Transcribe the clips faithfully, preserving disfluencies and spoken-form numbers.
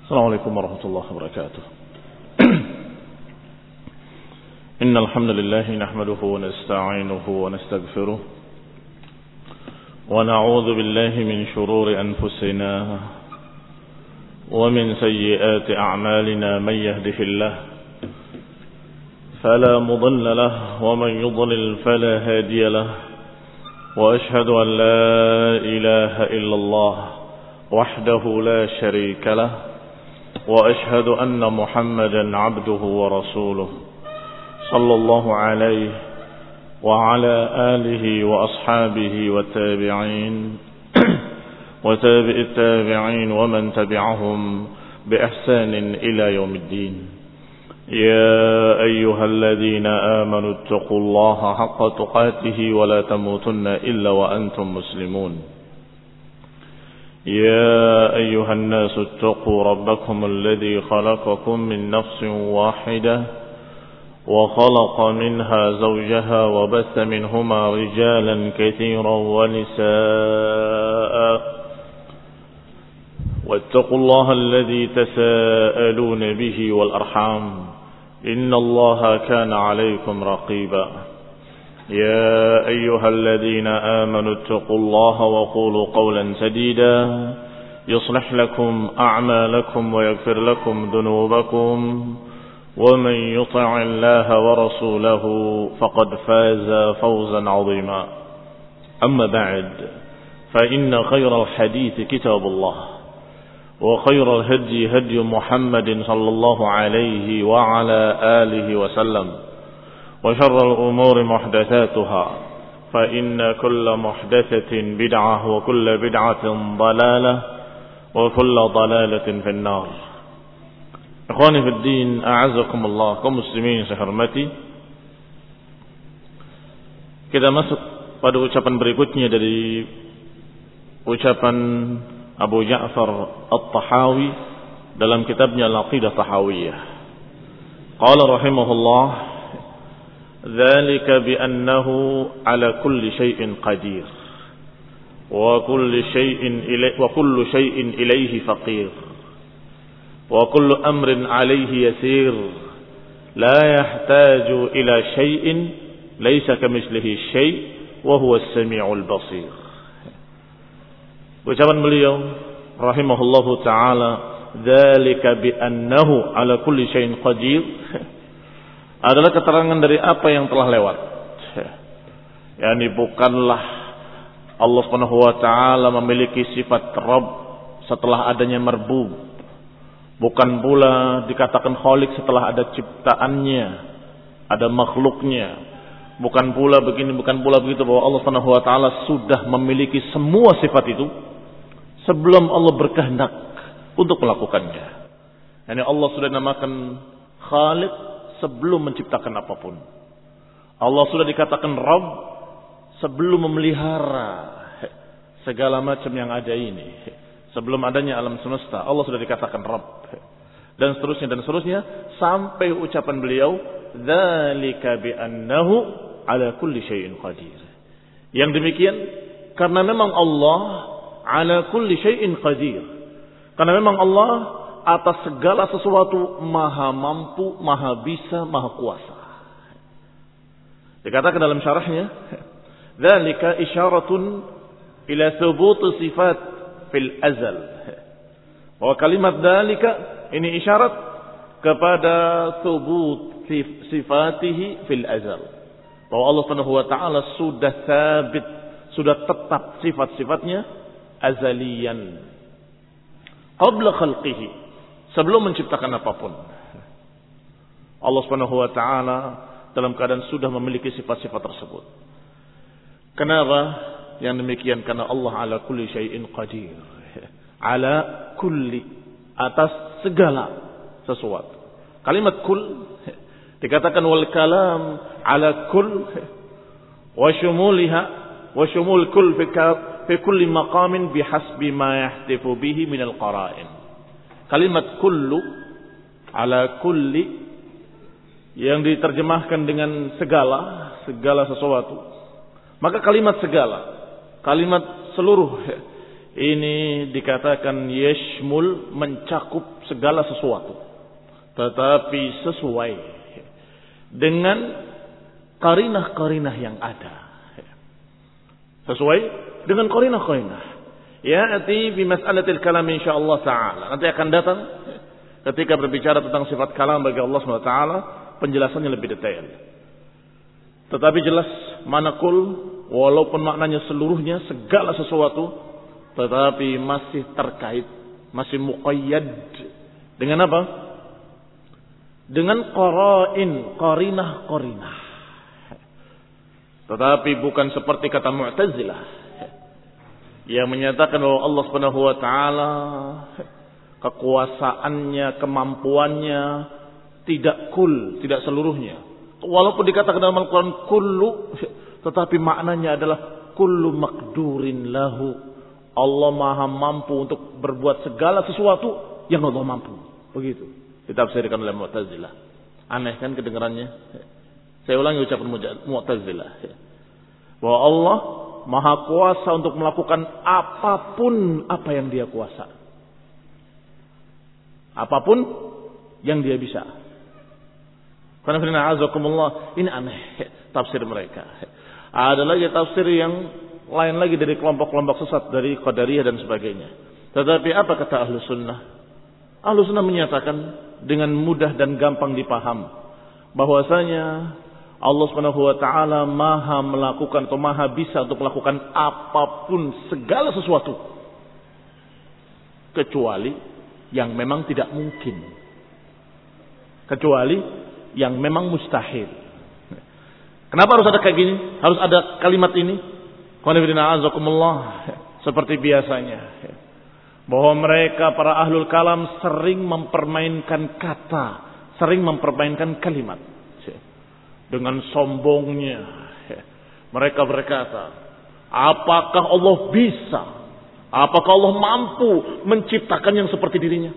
السلام عليكم ورحمة الله وبركاته. إن الحمد لله نحمده ونستعينه ونستغفره ونعوذ بالله من شرور أنفسنا ومن سيئات أعمالنا. من يهده الله فلا مضل له ومن يضلل فلا هادي له، وأشهد أن لا إله إلا الله وحده لا شريك له، وأشهد أن محمدا عبده ورسوله صلى الله عليه وعلى آله وأصحابه والتابعين وتابع التابعين ومن تبعهم بإحسان إلى يوم الدين. يا أيها الذين آمنوا اتقوا الله حق تقاته ولا تموتن إلا وأنتم مسلمون. يا أيها الناس اتقوا ربكم الذي خلقكم من نفس واحدة وخلق منها زوجها وبث منهما رجالا كثيرا ونساء، واتقوا الله الذي تساءلون به والأرحام إن الله كان عليكم رقيبا. يا أيها الذين آمنوا اتقوا الله وقولوا قولا سديدا يصلح لكم أعمالكم ويغفر لكم ذنوبكم، ومن يطع الله ورسوله فقد فاز فوزا عظيما. أما بعد، فإن خير الحديث كتاب الله، وخير الهدي هدي محمد صلى الله عليه وعلى آله وسلم، وشر الأمور محدثاتها، فإن كل محدثة بدعة وكل بدعة ضلالة وكل ضلالة في النار. Ikhwani fi din, a'azakumullah, kaum muslimin saya hormati. Kita masuk pada ucapan berikutnya dari ucapan Abu Ja'far At-Tahawi dalam kitabnya Al-Aqidah Tahawiyah. Qala rahimahullah: "Dzalika bi annahu ala kulli syai'in qadir wa kullu syai'in ilaihi wa kullu syai'in ilaihi faqir. وكل أمر عليه يسير لا يحتاج إلى شيء ليس كمثله شيء وهو السميع البصير." Ucapan beliau rahimahullahu taala, "Dzalika bi annahu ala kulli syai'in qadir" adalah keterangan dari apa yang telah lewat. Yani bukanlah Allah Subhanahu wa taala memiliki sifat Rabb setelah adanya marbub. Bukan pula dikatakan Khalik setelah ada ciptaannya, ada makhluknya. Bukan pula begini, bukan pula begitu, bahwa Allah Subhanahu wa taala sudah memiliki semua sifat itu sebelum Allah berkehendak untuk melakukannya. Yani Allah sudah namakan Khalik sebelum menciptakan apapun. Allah sudah dikatakan Rabb sebelum memelihara segala macam yang ada ini. Sebelum adanya alam semesta, Allah sudah dikatakan Rabb. Dan seterusnya dan seterusnya sampai ucapan beliau, "Dzalika bi annahu ala kulli syai'in qadir." Yang demikian karena memang Allah ala kulli syai'in qadir. Karena memang Allah atas segala sesuatu maha mampu, maha bisa, maha kuasa. Dikatakan dalam syarahnya, "Dzalika isyaratun ila thubut sifat fil azal." Bahwa kalimat dalika ini isyarat kepada thubut sifatihi fil azal. Bahwa Allah Subhanahu wa taala sudah sabit, sudah tetap sifat-sifatnya azaliyan. Qabla khalqihi, sebelum menciptakan apapun. Allah Subhanahu wa taala dalam keadaan sudah memiliki sifat-sifat tersebut. Kenapa yang demikian? Karena Allah ala kulli syai'in qadir. Ala kulli, atas segala sesuatu. Kalimat kul dikatakan wal kalam ala kull wa syumuliha wa syumul kull fi fi kulli maqamin bihasbi ma yahtifu bihi min al qara'in. Kalimat kullu ala kulli yang diterjemahkan dengan segala, segala sesuatu. Maka kalimat segala, kalimat seluruh ini dikatakan yashmul, mencakup segala sesuatu, tetapi sesuai dengan qarinah-qarinah yang ada. Sesuai dengan qarinah-qarinah. Ya'ti bi mas'alatil kalam insyaallah taala. Nanti akan datang ketika berbicara tentang sifat kalam bagi Allah Subhanahu wa taala, penjelasannya lebih detail. Tetapi jelas manakul, walaupun maknanya seluruhnya segala sesuatu, tetapi masih terkait, masih muqayyad dengan apa? Dengan qara'in, qarinah-qarinah. Tetapi bukan seperti kata Mu'tazilah yang menyatakan bahwa Allah Subhanahu wa taala kekuasaannya, kemampuannya tidak kul, tidak seluruhnya. Walaupun dikatakan dalam Al-Qur'an kullu, tetapi maknanya adalah kullu maqdurin lahu. Allah Maha mampu untuk berbuat segala sesuatu yang Allah mampu. Begitu ditafsirkan oleh Mu'tazilah. Aneh kan kedengarannya? Saya ulangi ucapan Mu'tazilah. Bahwa Allah Maha kuasa untuk melakukan apapun apa yang Dia kuasa. Apapun yang Dia bisa. Karena ini aneh tafsir mereka. Ada lagi tafsir yang lain lagi dari kelompok-kelompok sesat, dari Qadariyah dan sebagainya. Tetapi apa kata Ahlus Sunnah? Ahlus Sunnah menyatakan dengan mudah dan gampang dipaham bahwasanya Allah Subhanahu wa taala Maha melakukan atau Maha bisa untuk melakukan apapun, segala sesuatu, kecuali yang memang tidak mungkin, kecuali yang memang mustahil. Kenapa harus ada kayak gini? Harus ada kalimat ini? Seperti biasanya, bahwa mereka para ahlul kalam sering mempermainkan kata, sering mempermainkan kalimat. Dengan sombongnya mereka berkata, apakah Allah bisa, apakah Allah mampu menciptakan yang seperti dirinya?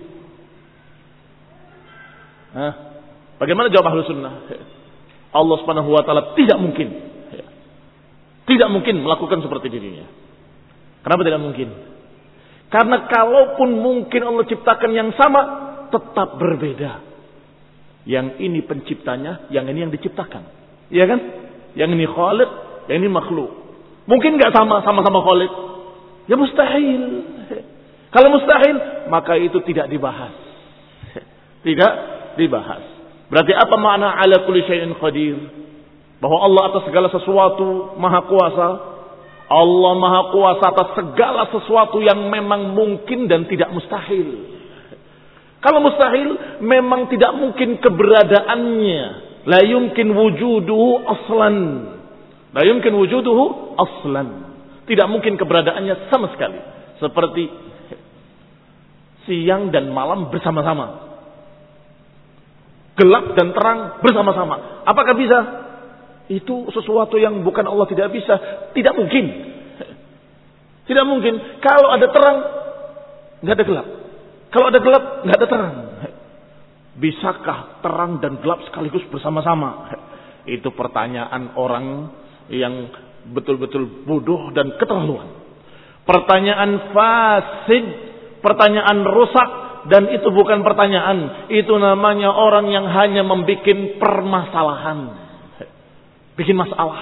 Hah? Bagaimana jawab Ahlus Sunnah? Allah Subhanahu wa taala tidak mungkin, tidak mungkin melakukan seperti dirinya. Kenapa tidak mungkin? Karena kalaupun mungkin Allah ciptakan yang sama, tetap berbeda. Yang ini penciptanya, yang ini yang diciptakan. Iya kan? Yang ini khaliq, yang ini makhluk. Mungkin nggak sama, sama-sama khaliq? Ya mustahil. Kalau mustahil, maka itu tidak dibahas. Tidak dibahas. Berarti apa makna ala kulli syai'in qadir? Bahwa Allah atas segala sesuatu maha kuasa. Allah maha kuasa atas segala sesuatu yang memang mungkin dan tidak mustahil. Kalau mustahil, memang tidak mungkin keberadaannya. La yumkin wujuduhu aslan. La yumkin wujuduhu aslan. Tidak mungkin keberadaannya sama sekali. Seperti siang dan malam bersama-sama. Gelap dan terang bersama-sama. Apakah bisa? Itu sesuatu yang bukan Allah tidak bisa. Tidak mungkin. Tidak mungkin. Kalau ada terang, nggak ada gelap. Kalau ada gelap, nggak ada terang. Bisakah terang dan gelap sekaligus bersama-sama? Itu pertanyaan orang yang betul-betul bodoh dan keterlaluan. Pertanyaan fasid, pertanyaan rusak, dan itu bukan pertanyaan. Itu namanya orang yang hanya membuat permasalahan. Bikin masalah.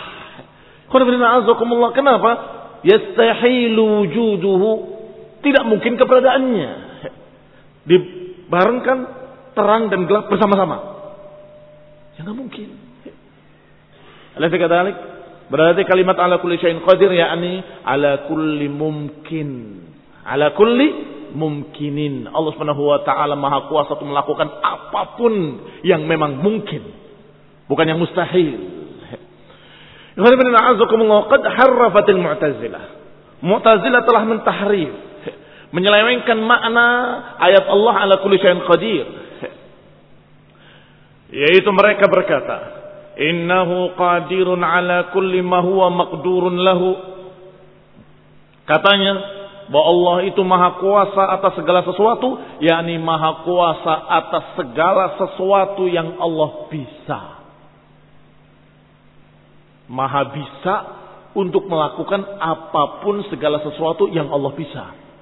Kenapa? Yastahilu wujuduhu. Tidak mungkin keberadaannya. Dibarengkan terang dan gelap bersama-sama. Ya nggak mungkin. Alif kadalik. Berarti kalimat ala kulli syai'in qadir yakni ala kulli mumkin. Ala kulli mumkinin. Allah Subhanahu wa taala Maha kuasa untuk melakukan apapun yang memang mungkin, bukan yang mustahil. Qad harrafatil Mu'tazilah. Mu'tazilah telah mentahrif, menyelewengkan makna ayat Allah ala kulli syai'in qadir. Yaitu mereka berkata, innahu qadirun ala kulli ma huwa maqdurun lahu. Katanya bahwa Allah itu maha kuasa atas segala sesuatu, yakni maha kuasa atas segala sesuatu yang Allah bisa. Maha bisa untuk melakukan apapun segala sesuatu yang Allah bisa.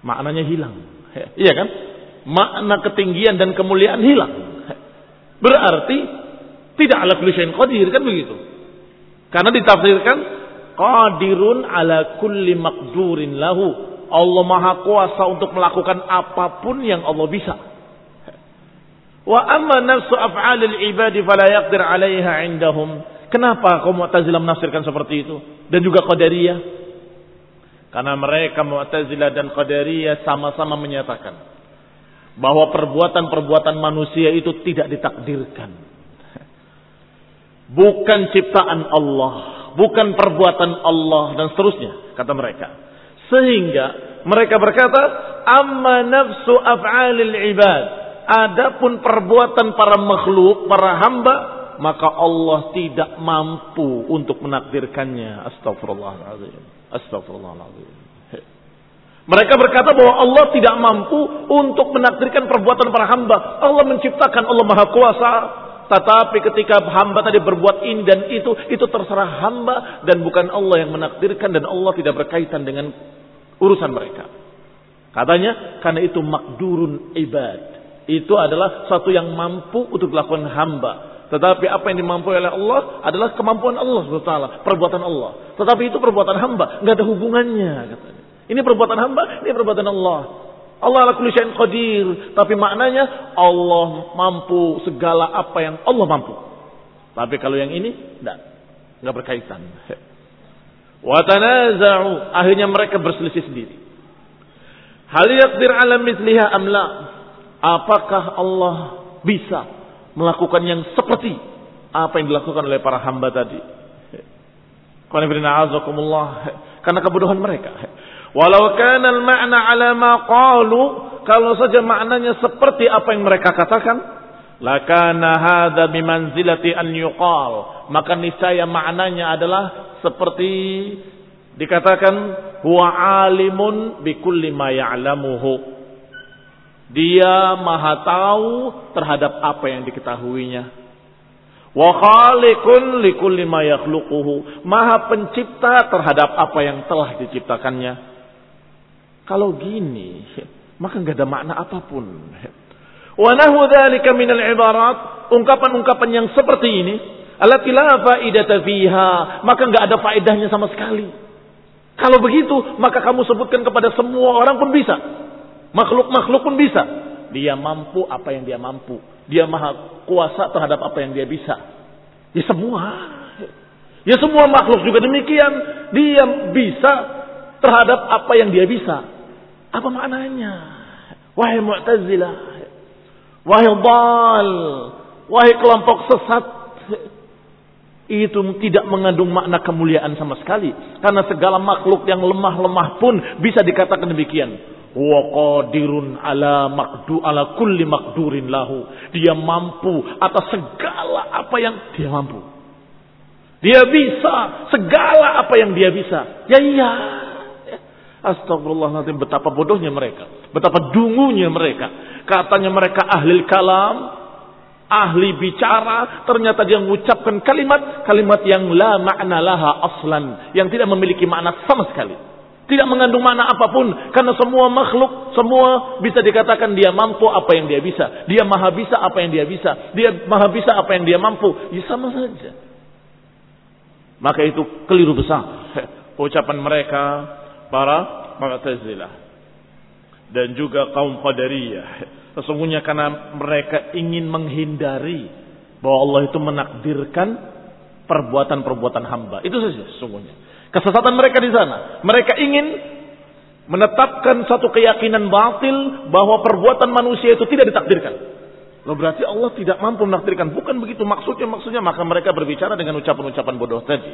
maknanya hilang. Iya kan? Makna ketinggian dan kemuliaan hilang. Berarti tidak ala kulli syai'in qadir, kan begitu. Karena ditafsirkan qadirun ala kulli maqdurin lahu. Allah Maha Kuasa untuk melakukan apapun yang Allah bisa. Wa amma nafsu af'alil ibadi fala yaqdir 'alaiha 'indahum. Kenapa kaum Mu'tazilah menafsirkan seperti itu? Dan juga Qadariyah. Karena mereka Mu'tazilah dan Qadariyah sama-sama menyatakan bahwa perbuatan-perbuatan manusia itu tidak ditakdirkan. Bukan ciptaan Allah, bukan perbuatan Allah dan seterusnya, kata mereka. Sehingga mereka berkata, amma nafsu af'alil ibad. Adapun perbuatan para makhluk, para hamba, maka Allah tidak mampu untuk menakdirkannya. Astagfirullahaladzim. Astagfirullahaladzim. Mereka berkata bahwa Allah tidak mampu untuk menakdirkan perbuatan para hamba. Allah menciptakan, Allah Maha Kuasa. Tetapi ketika hamba tadi berbuat ini dan itu, itu terserah hamba dan bukan Allah yang menakdirkan, dan Allah tidak berkaitan dengan urusan mereka. Katanya karena itu makdurun ibad. Itu adalah satu yang mampu untuk dilakukan hamba. Tetapi apa yang dimampu oleh Allah adalah kemampuan Allah subhanahu wa taala, perbuatan Allah. Tetapi itu perbuatan hamba, enggak ada hubungannya katanya. Ini perbuatan hamba, ini perbuatan Allah. Allah ala kulli syai'in qadir, tapi maknanya Allah mampu segala apa yang Allah mampu. Tapi kalau yang ini enggak, enggak berkaitan. Wa tanaza'u, akhirnya mereka berselisih sendiri. Hal yaqdir 'ala mithliha am la? Apakah Allah bisa melakukan yang seperti apa yang dilakukan oleh para hamba tadi? Karena kebodohan mereka. Walau kana al-ma'na 'ala ma qalu, kalau saja maknanya seperti apa yang mereka katakan, lakana hadza bimanzilati an yuqal, maka niscaya maknanya adalah seperti dikatakan huwa alimun bikulli ma ya'lamuhu. Dia maha tahu terhadap apa yang diketahuinya. Wa khaliqun likulli ma yakhluquhu, maha pencipta terhadap apa yang telah diciptakannya. Kalau gini, maka enggak ada makna apapun. Wa nahu dzalika minal ibarat, ungkapan-ungkapan yang seperti ini, allati la faidata fiha, maka enggak ada faedahnya sama sekali. Kalau begitu, maka kamu sebutkan kepada semua orang pun bisa. Makhluk-makhluk pun bisa. Dia mampu apa yang dia mampu. Dia maha kuasa terhadap apa yang dia bisa. Ya semua. Ya semua makhluk juga demikian. Dia bisa terhadap apa yang dia bisa. Apa maknanya? Wahai Mu'tazilah. Wahai dhal. Wahai kelompok sesat. Itu tidak mengandung makna kemuliaan sama sekali. Karena segala makhluk yang lemah-lemah pun bisa dikatakan demikian. Wa qadirun ala maqdu ala kulli maqdurin lahu. Dia mampu atas segala apa yang dia mampu. Dia bisa segala apa yang dia bisa. Ya iya. Astagfirullahaladzim, betapa bodohnya mereka. Betapa dungunya mereka. Katanya mereka ahli kalam, ahli bicara, ternyata dia mengucapkan kalimat kalimat yang la ma'na laha aslan, yang tidak memiliki makna sama sekali. Tidak mengandung makna apapun. Karena semua makhluk, semua bisa dikatakan dia mampu apa yang dia bisa. Dia maha bisa apa yang dia bisa. Dia maha bisa apa yang dia mampu. Ya sama saja. Maka itu keliru besar ucapan mereka para Mu'tazilah dan juga kaum Qadariyah. Sesungguhnya karena mereka ingin menghindari bahwa Allah itu menakdirkan perbuatan-perbuatan hamba. Itu saja sesungguhnya. Kesesatan mereka di sana. Mereka ingin menetapkan satu keyakinan batil bahwa perbuatan manusia itu tidak ditakdirkan. Loh, berarti Allah tidak mampu menakdirkan. Bukan begitu maksudnya. Maksudnya maka mereka berbicara dengan ucapan-ucapan bodoh tadi.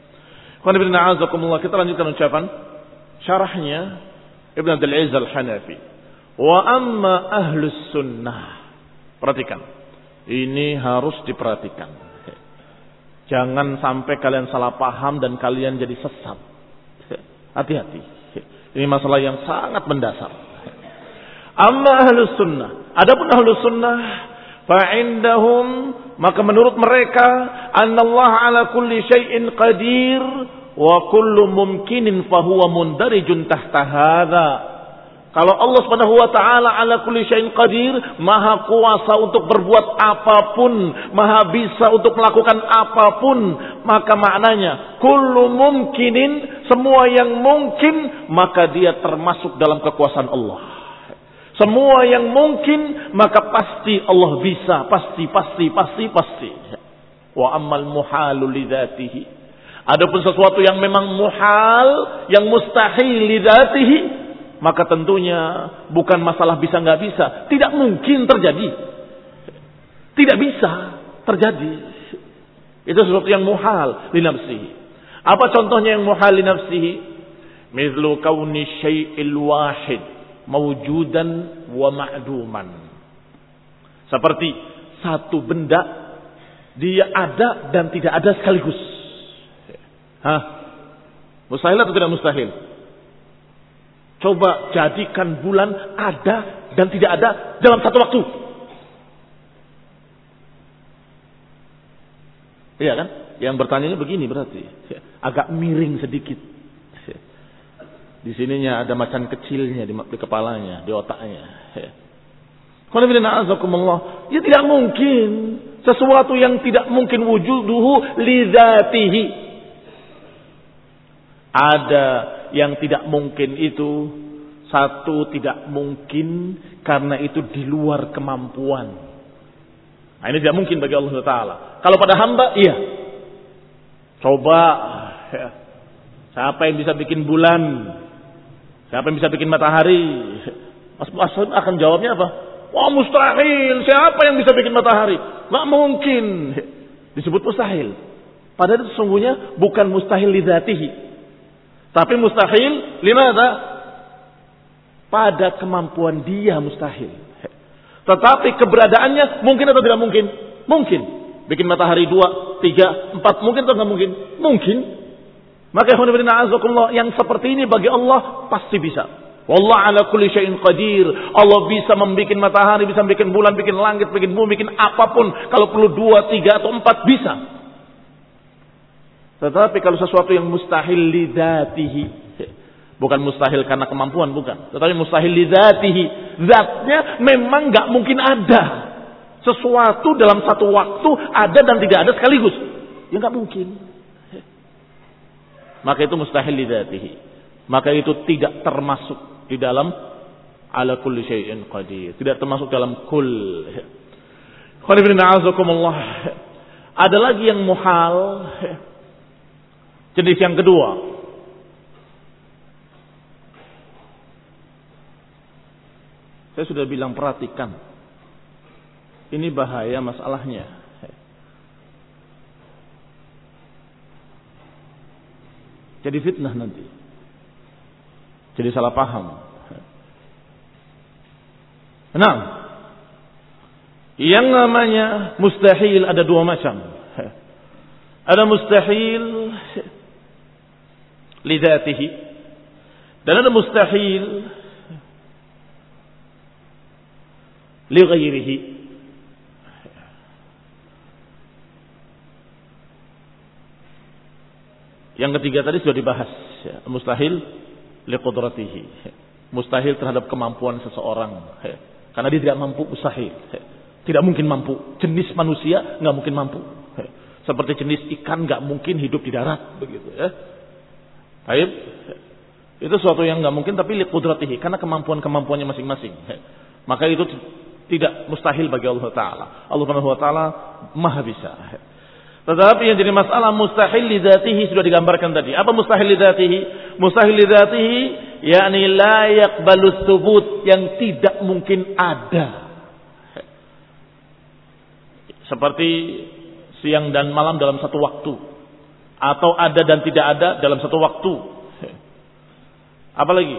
Kita lanjutkan ucapan syarahnya Ibn Abdul Aziz Al-Hanafi. Wa amma ahlus sunnah. Perhatikan. Ini harus diperhatikan. Jangan sampai kalian salah paham dan kalian jadi sesat. Hati-hati. Ini masalah yang sangat mendasar. Amma ahlus sunnah. Adapun ahlus sunnah, fa'indahum, maka menurut mereka, annallaha ala kulli syai'in qadir, wa kullu mumkinin fahuwa mundarijun tahta hadha. Kalau Allah Subhanahu wa taala ala kulli syai'in qadir, maha kuasa untuk berbuat apapun, maha bisa untuk melakukan apapun, maka maknanya kullu mumkinin, semua yang mungkin, maka dia termasuk dalam kekuasaan Allah. Semua yang mungkin, maka pasti Allah bisa, pasti pasti pasti pasti. Wa ammal muhalu lidzatihi. Adapun sesuatu yang memang muhal, yang mustahil lidzatihi, maka tentunya bukan masalah bisa nggak bisa, tidak mungkin terjadi, tidak bisa terjadi. Itu sesuatu yang muhal li nafsihi. Apa contohnya yang muhal li nafsihi? Mithlu kauni syai'il wahid mawjudan wa ma'duman. Seperti satu benda dia ada dan tidak ada sekaligus. Hah? Mustahil atau tidak mustahil? Coba jadikan bulan ada dan tidak ada dalam satu waktu. Iya kan? Yang bertanya begini berarti. Agak miring sedikit. Di sininya ada macan kecilnya di, di kepalanya, di otaknya. Ya tidak mungkin. Sesuatu yang tidak mungkin wujuduhu lidzatihi. Ada yang tidak mungkin itu, satu tidak mungkin karena itu di luar kemampuan. Nah, ini tidak mungkin bagi Allah Taala. Kalau pada hamba, iya. Coba, ya. Siapa yang bisa bikin bulan? Siapa yang bisa bikin matahari? Mas Asad akan jawabnya apa? Wah, mustahil. Siapa yang bisa bikin matahari? Nggak mungkin. Disebut mustahil. Padahal itu sesungguhnya bukan mustahil lidzatihi. Tapi mustahil, limada? Pada kemampuan dia mustahil. Tetapi keberadaannya mungkin atau tidak mungkin? Mungkin. Bikin matahari dua, tiga, empat, mungkin atau tidak mungkin? Mungkin. Maka yang seperti ini bagi Allah pasti bisa. Wallahu ala kulli syai'in qadir. Allah bisa membuat matahari, bisa membuat bulan, bikin langit, bikin bumi, bikin apapun. Kalau perlu dua, tiga atau empat bisa. Tetapi kalau sesuatu yang mustahil lidzatihi, bukan mustahil karena kemampuan, bukan. Tetapi mustahil lidzatihi, zatnya memang nggak mungkin ada. Sesuatu dalam satu waktu ada dan tidak ada sekaligus, ya nggak mungkin. Maka itu mustahil lidzatihi. Maka itu tidak termasuk di dalam ala kulli syai'in qadir. Tidak termasuk dalam kull. Ada lagi yang muhal. Jenis yang kedua. Saya sudah bilang perhatikan. Ini bahaya masalahnya. Jadi fitnah nanti. Jadi salah paham. Nah, yang namanya mustahil ada dua macam. Ada mustahil lidzatihi dan ada mustahil li ghairihi. Yang ketiga tadi sudah dibahas, ya. Mustahil liqudratihi, mustahil terhadap kemampuan seseorang, ya. Karena dia tidak mampu, mustahil, ya. Tidak mungkin mampu. Jenis manusia nggak mungkin mampu, ya. Seperti jenis ikan nggak mungkin hidup di darat, begitu ya. Baik, itu sesuatu yang nggak mungkin, tapi liqudratihi, karena kemampuan-kemampuannya masing-masing, ya. Maka itu tidak mustahil bagi Allah Taala. Allah Subhanahu Wa Taala maha bisa. Tetapi yang jadi masalah mustahil lidzatihi sudah digambarkan tadi. Apa mustahil lidzatihi? Mustahil lidzatihi yakni la yaqbalu tsubut, yang tidak mungkin ada. Seperti siang dan malam dalam satu waktu, atau ada dan tidak ada dalam satu waktu. Apalagi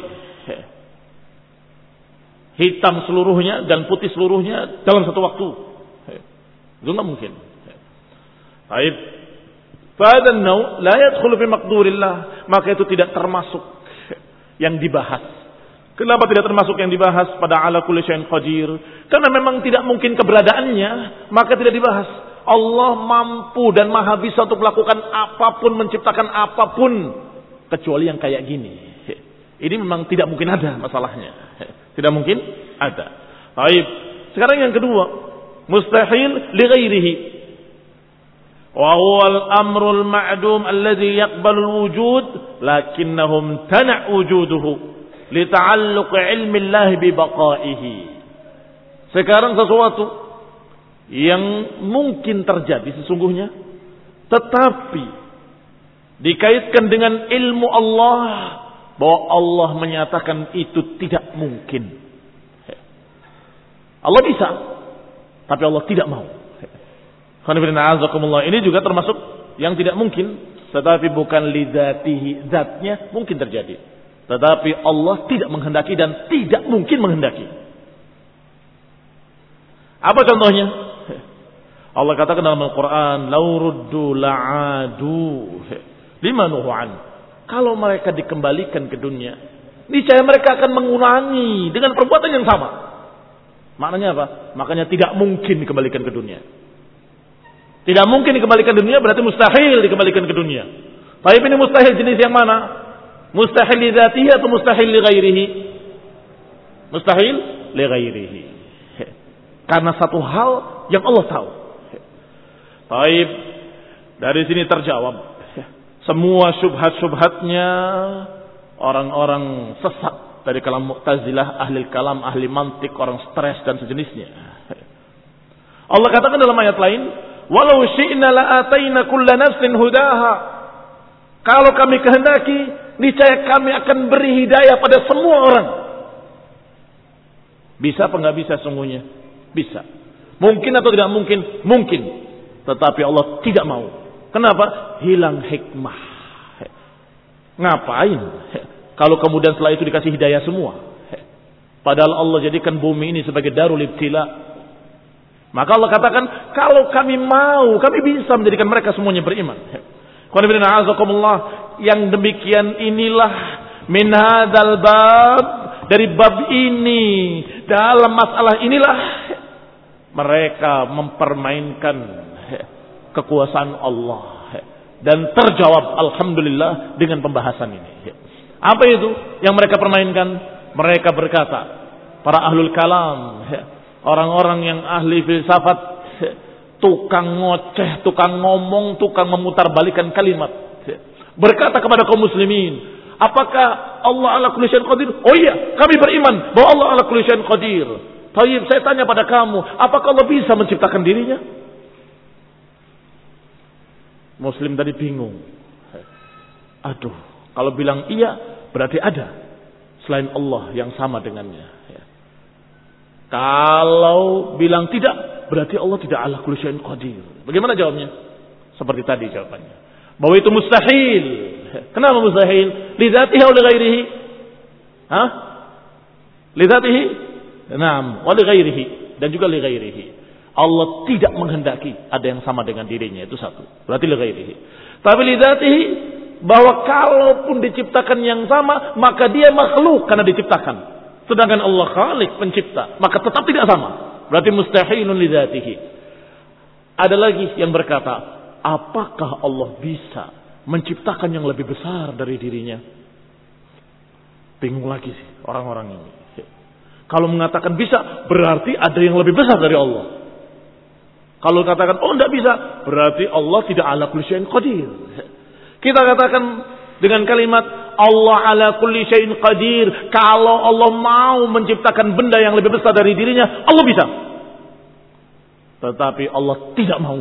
hitam seluruhnya dan putih seluruhnya dalam satu waktu. Itu enggak mungkin. Baik. Fa'adhan naw la yadkhulu fi maqdurillah, maka itu tidak termasuk yang dibahas. Kenapa tidak termasuk yang dibahas pada ala kulli syai'in qadir? Karena memang tidak mungkin keberadaannya, maka tidak dibahas. Allah mampu dan maha bisa untuk melakukan apapun, menciptakan apapun, kecuali yang kayak gini. Ini memang tidak mungkin ada masalahnya. Tidak mungkin ada. Baik. Sekarang yang kedua, mustahil li ghairihi. Wa huwa al-amru al-ma'dum alladhi yaqbalu al-wujud lakinnahum tana' wujuduhu li ta'alluq ilmi Allah bi baqaihi. Sekarang sesuatu yang mungkin terjadi sesungguhnya, tetapi dikaitkan dengan ilmu Allah, bahwa Allah menyatakan itu tidak mungkin. Allah bisa, tapi Allah tidak mau. Ini juga termasuk yang tidak mungkin, tetapi bukan lidzatihi, zatnya mungkin terjadi, tetapi Allah tidak menghendaki dan tidak mungkin menghendaki. Apa contohnya? Allah katakan dalam Al-Quran, "Lau ruddu la'adu lima nuhu an." Kalau mereka dikembalikan ke dunia, niscaya mereka akan mengulangi dengan perbuatan yang sama. Maknanya apa? Makanya tidak mungkin dikembalikan ke dunia. Tidak mungkin dikembalikan ke dunia berarti mustahil dikembalikan ke dunia. Tapi ini mustahil jenis yang mana? Mustahil li dzatihi atau mustahil li ghairihi? Mustahil li ghairihi. Karena satu hal yang Allah tahu. Baik, dari sini terjawab semua syubhat-syubhatnya orang-orang sesat dari kalam Mu'tazilah, ahli kalam, ahli mantik, orang stres dan sejenisnya. Allah katakan dalam ayat lain, "Walau syi'na la'ataina kulla nafsin hudaha." Kalau kami kehendaki, niscaya kami akan beri hidayah pada semua orang. Bisa apa enggak bisa sungguhnya? Bisa. Mungkin atau tidak mungkin? Mungkin. Tetapi Allah tidak mau. Kenapa? Hilang hikmah. Ngapain? Kalau kemudian setelah itu dikasih hidayah semua. Padahal Allah jadikan bumi ini sebagai darul ibtila. Maka Allah katakan, kalau kami mau, kami bisa menjadikan mereka semuanya beriman. Yang demikian inilah min hadzal bab, dari bab ini, dalam masalah inilah mereka mempermainkan kekuasaan Allah, dan terjawab alhamdulillah dengan pembahasan ini. Apa itu yang mereka permainkan? Mereka berkata, para ahlul kalam, orang-orang yang ahli filsafat, tukang ngoceh, tukang ngomong, tukang memutarbalikkan kalimat, berkata kepada kaum muslimin, apakah Allah ala kulli syai'in qadir? Oh iya, kami beriman bahwa Allah ala kulli syai'in qadir. Tayyib, saya tanya pada kamu, apakah Allah bisa menciptakan dirinya? Muslim tadi bingung. Aduh, kalau bilang iya, berarti ada selain Allah yang sama dengannya. Kalau bilang tidak, berarti Allah tidak ala kulli syai'in qadir. Bagaimana jawabnya? Seperti tadi jawabannya, bahwa itu mustahil. Kenapa mustahil? Li dzatihi wa li ghairihi? Hah? Li dzatihi? Naam, wa li ghairihi, dan juga li ghairihi. Allah tidak menghendaki ada yang sama dengan dirinya, itu satu. Berarti li ghairihi. Tapi li dzatihi, bahwa kalaupun diciptakan yang sama, maka dia makhluk karena diciptakan. Sedangkan Allah Khalik, pencipta, maka tetap tidak sama. Berarti mustahilun li dzatihi. Ada lagi yang berkata, apakah Allah bisa menciptakan yang lebih besar dari dirinya? Bingung lagi sih orang-orang ini. Kalau mengatakan bisa, berarti ada yang lebih besar dari Allah. Kalau katakan, oh tidak bisa, berarti Allah tidak ala kulli syai'in qadir. Kita katakan dengan kalimat Allah ala kulli syai'in qadir, kalau Allah mau menciptakan benda yang lebih besar dari dirinya, Allah bisa. Tetapi Allah tidak mau.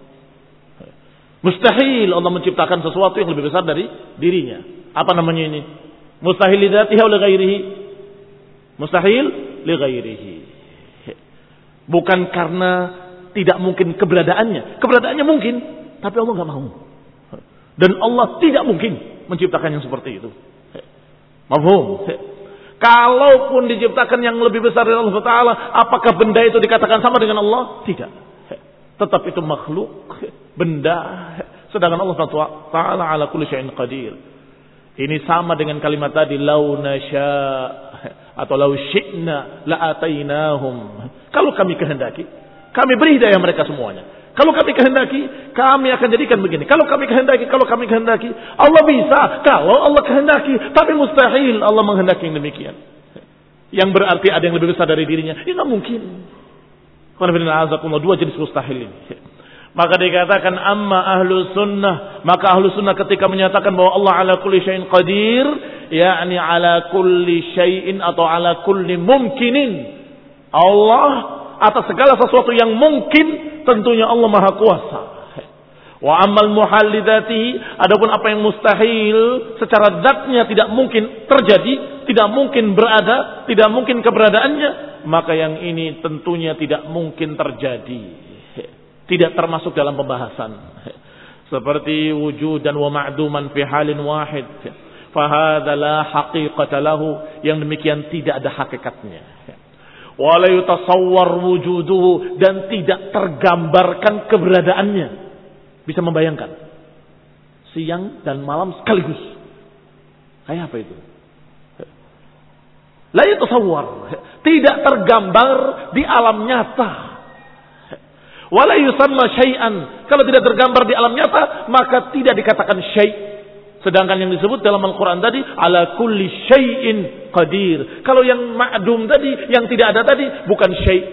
Mustahil Allah menciptakan sesuatu yang lebih besar dari dirinya. Apa namanya ini? Mustahil li dzatihi wa li ghairihi. Mustahil li ghairihi. Bukan karena tidak mungkin keberadaannya. Keberadaannya mungkin, tapi Allah enggak mau. Dan Allah tidak mungkin menciptakan yang seperti itu. Mafhum? Kalaupun diciptakan yang lebih besar dari Allah Taala, apakah benda itu dikatakan sama dengan Allah? Tidak. Tetap itu makhluk, benda. Sedangkan Allah Taala ala kulli syai'in qadir. Ini sama dengan kalimat tadi, lau nasya atau lau syi'na la atainahum. Kalau kami kehendaki, kami beri hidayah mereka semuanya. Kalau kami kehendaki, kami akan jadikan begini. Kalau kami kehendaki, kalau kami kehendaki. Allah bisa, kalau Allah kehendaki. Tapi mustahil Allah menghendaki yang demikian. Yang berarti ada yang lebih besar dari dirinya. Ini tidak mungkin. Dua jenis mustahil ini. Maka dikatakan amma ahlu sunnah. Maka ahlu sunnah ketika menyatakan bahwa Allah ala kulli syai'in qadir. yakni ala kulli syai'in atau ala kulli mumkinin. Allah atas segala sesuatu yang mungkin, tentunya Allah Maha Kuasa. Wa ammal muhal lidzatihi, adapun apa yang mustahil secara zatnya tidak mungkin terjadi, tidak mungkin berada, tidak mungkin keberadaannya, maka yang ini tentunya tidak mungkin terjadi. Tidak termasuk dalam pembahasan. Seperti wujudan wa ma'duman fi halin wahid. Fahadha la haqiqata lahu, yang demikian tidak ada hakikatnya. Wa la yutasawwar wujuduhu, dan tidak tergambarkan keberadaannya. Bisa membayangkan siang dan malam sekaligus. Kayak apa itu? La yutasawwar, tidak tergambar di alam nyata. Wala yusamma syai'an, kalau tidak tergambar di alam nyata maka tidak dikatakan syai'. Sedangkan yang disebut dalam Al-Quran tadi ala kulli syai'in qadir. Kalau yang ma'dum tadi, yang tidak ada tadi, bukan syai'.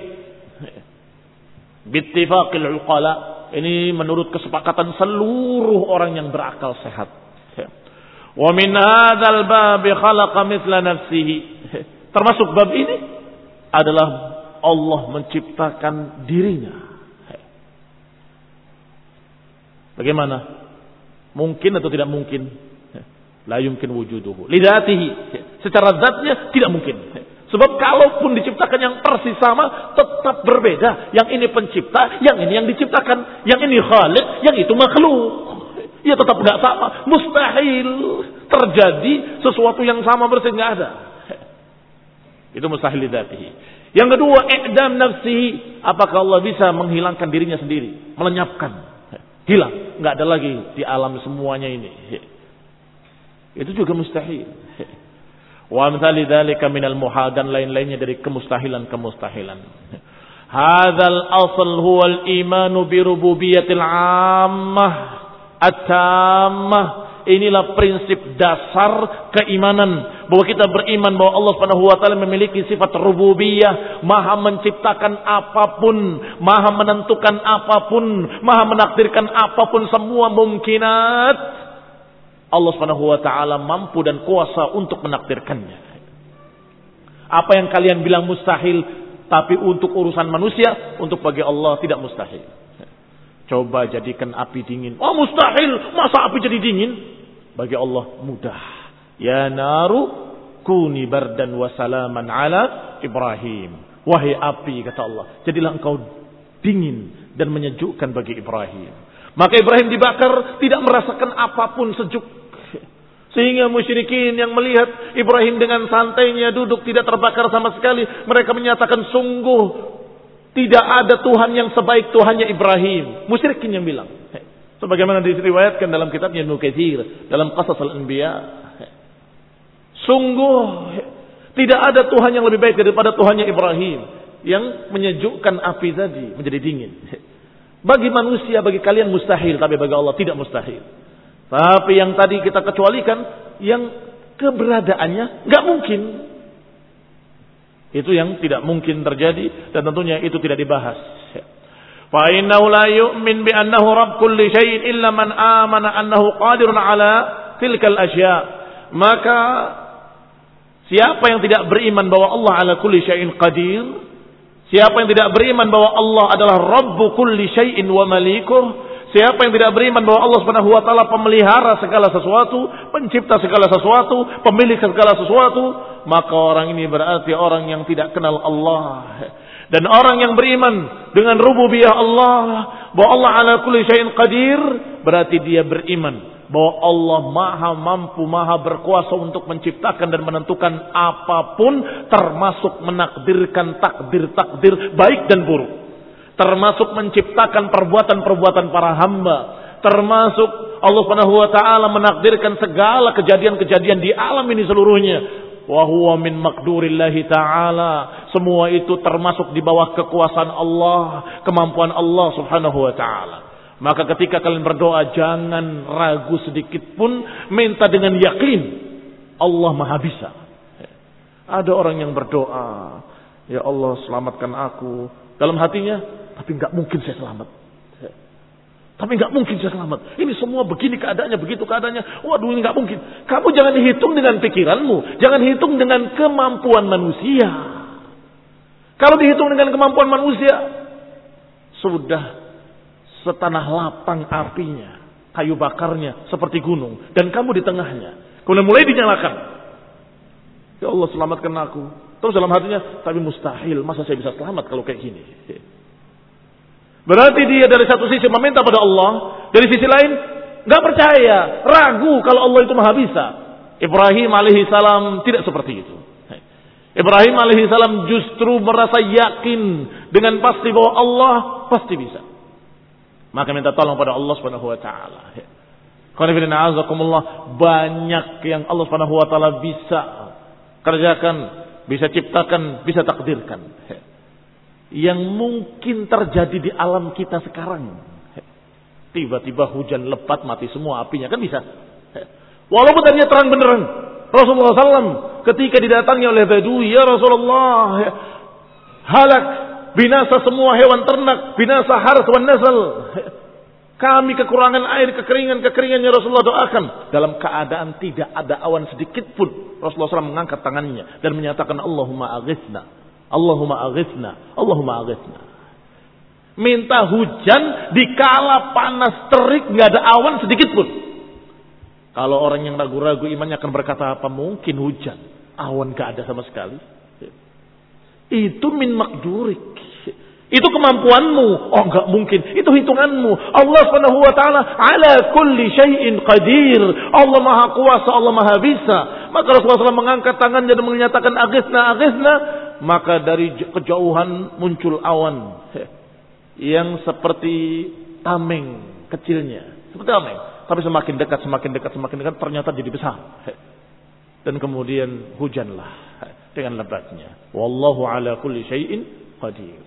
Bittifaqil uqala, ini menurut kesepakatan seluruh orang yang berakal sehat. Wa min hadzal bab khalaqa mithla nafsihi. Termasuk bab ini adalah Allah menciptakan dirinya. Bagaimana? Mungkin atau tidak mungkin? La yumkin wujuduhu lidzatihi. Secara zatnya tidak mungkin. Sebab kalaupun diciptakan yang persis sama, tetap berbeda. Yang ini pencipta, yang ini yang diciptakan. Yang ini khaliq, yang itu makhluk. Ya tetap tidak sama. Mustahil terjadi sesuatu yang sama persis, tidak ada. Itu mustahil lidzatihi. Yang kedua, i'dam nafsihi. Apakah Allah bisa menghilangkan dirinya sendiri? Melenyapkan. Hilang, nggak ada lagi di alam semuanya ini. Itu juga mustahil. Wa amsali dzalika minal muhal, dan lain-lainnya dari kemustahilan-kemustahilan. Hadzal asl huwal imanu bi rububiyyatil 'ammah at-tammah. Inilah prinsip dasar keimanan, bahwa kita beriman bahwa Allah Subhanahu wa taala memiliki sifat rububiyah, maha menciptakan apapun, maha menentukan apapun, maha menakdirkan apapun, semua mungkinat Allah Subhanahu wa taala mampu dan kuasa untuk menakdirkannya. Apa yang kalian bilang mustahil, tapi untuk urusan manusia, untuk bagi Allah tidak mustahil. Coba jadikan api dingin. Oh mustahil, masa api jadi dingin? Bagi Allah mudah. Ya naru kuni bardan wa salaman ala Ibrahim. Wahai api, kata Allah, jadilah engkau dingin dan menyejukkan bagi Ibrahim. Maka Ibrahim dibakar, tidak merasakan apapun sejuk. Sehingga musyrikin yang melihat Ibrahim dengan santainya duduk tidak terbakar sama sekali, mereka menyatakan sungguh tidak ada Tuhan yang sebaik Tuhannya Ibrahim. Musyrikin yang bilang. Sebagaimana diriwayatkan dalam kitabnya Ibnu Katsir, dalam Qasas al-Anbiya. Sungguh tidak ada Tuhan yang lebih baik daripada Tuhannya Ibrahim, yang menyejukkan api tadi menjadi dingin. Bagi manusia, bagi kalian mustahil, tapi bagi Allah tidak mustahil. Tapi yang tadi kita kecualikan, yang keberadaannya nggak mungkin. Itu yang tidak mungkin terjadi, dan tentunya itu tidak dibahas. Fa innahu la yu'min bi annahu rabb kulli syai'in illa man amana annahu qadirun ala tilkal asya'. Maka siapa yang tidak beriman bahwa Allah ala kulli syai'in qadir, siapa yang tidak beriman bahwa Allah adalah rabbu kulli syai'in wa malikuh, siapa yang tidak beriman bahwa Allah Subhanahu wa taala pemelihara segala sesuatu, pencipta segala sesuatu, pemilik segala sesuatu, maka orang ini berarti orang yang tidak kenal Allah. Dan orang yang beriman dengan rububiyah Allah, bahwa Allah ala kulli syai'in qadir, berarti dia beriman bahwa Allah maha mampu, maha berkuasa untuk menciptakan dan menentukan apapun, termasuk menakdirkan takdir-takdir baik dan buruk, termasuk menciptakan perbuatan-perbuatan para hamba, termasuk Allah Subhanahu wa taala menakdirkan segala kejadian-kejadian di alam ini seluruhnya wa huwa min maqdurillahi ta'ala. Semua itu termasuk di bawah kekuasaan Allah, kemampuan Allah Subhanahu wa ta'ala. Maka ketika kalian berdoa jangan ragu sedikit pun, minta dengan yakin Allah Maha bisa. Ada orang yang berdoa, ya Allah selamatkan aku, dalam hatinya, tapi enggak mungkin saya selamat. Tapi enggak mungkin saya selamat. Ini semua begini keadaannya, begitu keadaannya. Waduh, ini enggak mungkin. Kamu jangan hitung dengan pikiranmu, jangan hitung dengan kemampuan manusia. Kalau dihitung dengan kemampuan manusia, sudah setanah lapang apinya, kayu bakarnya seperti gunung, dan kamu di tengahnya. Kemudian mulai dinyalakan. Ya Allah selamatkan aku. Terus dalam hatinya, tapi mustahil, masa saya bisa selamat kalau kayak gini. Berarti dia dari satu sisi meminta pada Allah, dari sisi lain nggak percaya, ragu kalau Allah itu Maha bisa. Ibrahim alaihi salam tidak seperti itu. Ibrahim alaihi salam justru merasa yakin dengan pasti bahwa Allah pasti bisa. Maka minta tolong pada Allah Subhanahu wa taala. Banyak yang Allah Subhanahu wa taala bisa kerjakan, bisa ciptakan, bisa takdirkan. Yang mungkin terjadi di alam kita sekarang. Tiba-tiba hujan lebat mati semua apinya, kan bisa. Walaupun tadinya terang beneran. Rasulullah sallallahu alaihi wasallam ketika didatangi oleh Badui, ya Rasulullah, halak, binasa semua hewan ternak, binasa harth wan nasl. Kami kekurangan air, kekeringan-kekeringan, ya Rasulullah doakan. Dalam keadaan tidak ada awan sedikit pun, Rasulullah sallallahu alaihi wasallam mengangkat tangannya dan menyatakan Allahumma aghithna, Allahumma aghithna, Allahumma aghithna. Minta hujan dikala panas terik, nggak ada awan sedikit pun. Kalau orang yang ragu-ragu imannya akan berkata, apa mungkin hujan? Awan gak ada sama sekali. Itu min makdurik. Itu kemampuanmu. Oh gak mungkin. Itu hitunganmu. Allah subhanahu wa ta'ala ala kulli syai'in qadir. Allah maha kuasa, Allah maha bisa. Maka Rasulullah shallallahu alaihi wasallam mengangkat tangannya dan menyatakan aghithna, aghithna. Maka dari kejauhan muncul awan. Yang seperti tameng kecilnya. Seperti tameng. Tapi semakin dekat, semakin dekat, semakin dekat, ternyata jadi besar. Dan kemudian hujanlah dengan lebatnya. Wallahu ala kulli syai'in qadir.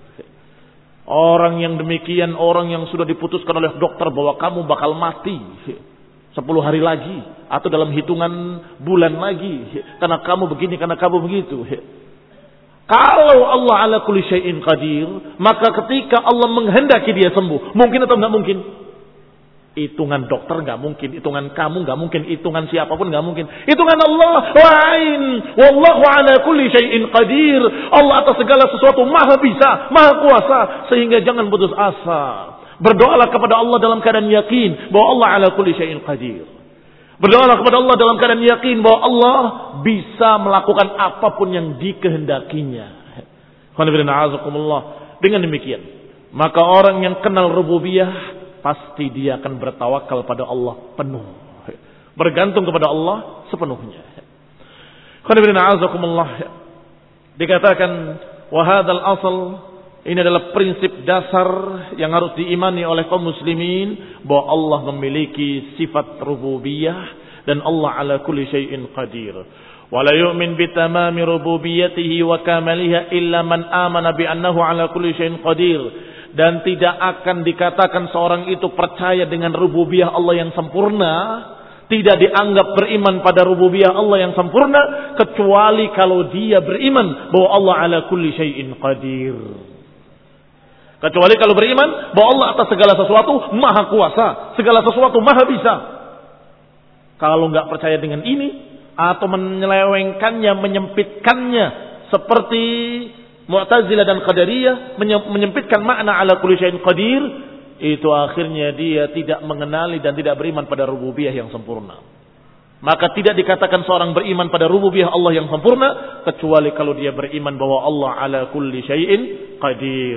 Orang yang demikian, orang yang sudah diputuskan oleh dokter bahwa kamu bakal mati sepuluh hari lagi, atau dalam hitungan bulan lagi, karena kamu begini, karena kamu begitu. Kalau Allah ala kulli syai'in qadir, maka ketika Allah menghendaki dia sembuh, mungkin atau enggak mungkin? Hitungan dokter nggak mungkin, hitungan kamu nggak mungkin, hitungan siapapun nggak mungkin. Hitungan Allah lain. Wallahu ala kulli syai'in qadir. Allah atas segala sesuatu maha bisa, maha kuasa, sehingga jangan putus asa. Berdoalah kepada Allah dalam keadaan yakin bahwa Allah ala kulli syai'in qadir. Berdoalah kepada Allah dalam keadaan yakin bahwa Allah bisa melakukan apapun yang dikehendakinya. Dengan demikian, maka orang yang kenal rububiyah pasti dia akan bertawakal pada Allah penuh. Bergantung kepada Allah sepenuhnya. Dikatakan, wahadal asal, ini adalah prinsip dasar yang harus diimani oleh kaum muslimin, bahwa Allah memiliki sifat rububiyah dan Allah ala kulli syai'in qadir. Wala yu'min bitamami rububiyyatihi wa kamaliha illa man amana bi annahu ala kulli syai'in qadir. Dan tidak akan dikatakan seorang itu percaya dengan rububiyah Allah yang sempurna, tidak dianggap beriman pada rububiyah Allah yang sempurna, kecuali kalau dia beriman bahwa Allah ala kulli syai'in qadir. Kecuali kalau beriman bahwa Allah atas segala sesuatu maha kuasa, segala sesuatu maha bisa. Kalau nggak percaya dengan ini, atau menyelewengkannya, menyempitkannya, seperti Mu'tazilah dan Qadariyah menyempitkan makna ala kulli syai'in qadir, itu akhirnya dia tidak mengenali dan tidak beriman pada rububiyah yang sempurna. Maka tidak dikatakan seorang beriman pada rububiyah Allah yang sempurna kecuali kalau dia beriman bahwa Allah ala kulli syai'in qadir.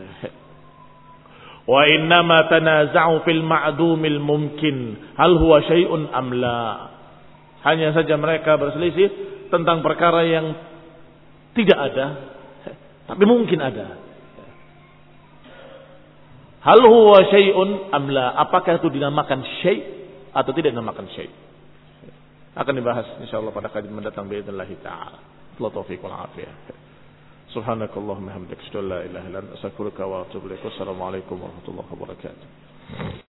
Wa innama tanaza'u fil ma'dumil mumkin hal huwa syai'un am la. Hanya saja mereka berselisih tentang perkara yang tidak ada, tapi mungkin ada. Hal huwa syai'un am la? Apakah itu dinamakan syai' atau tidak dinamakan syai'? Akan dibahas insyaallah pada kajian mendatang باذنillah taala. Wa taufiq wal afiyah. Subhanakallahumma hamdaka asyhadu an la ilaha illa anta astaghfiruka wa atubu ilaik. Wassalamualaikum warahmatullahi wabarakatuh.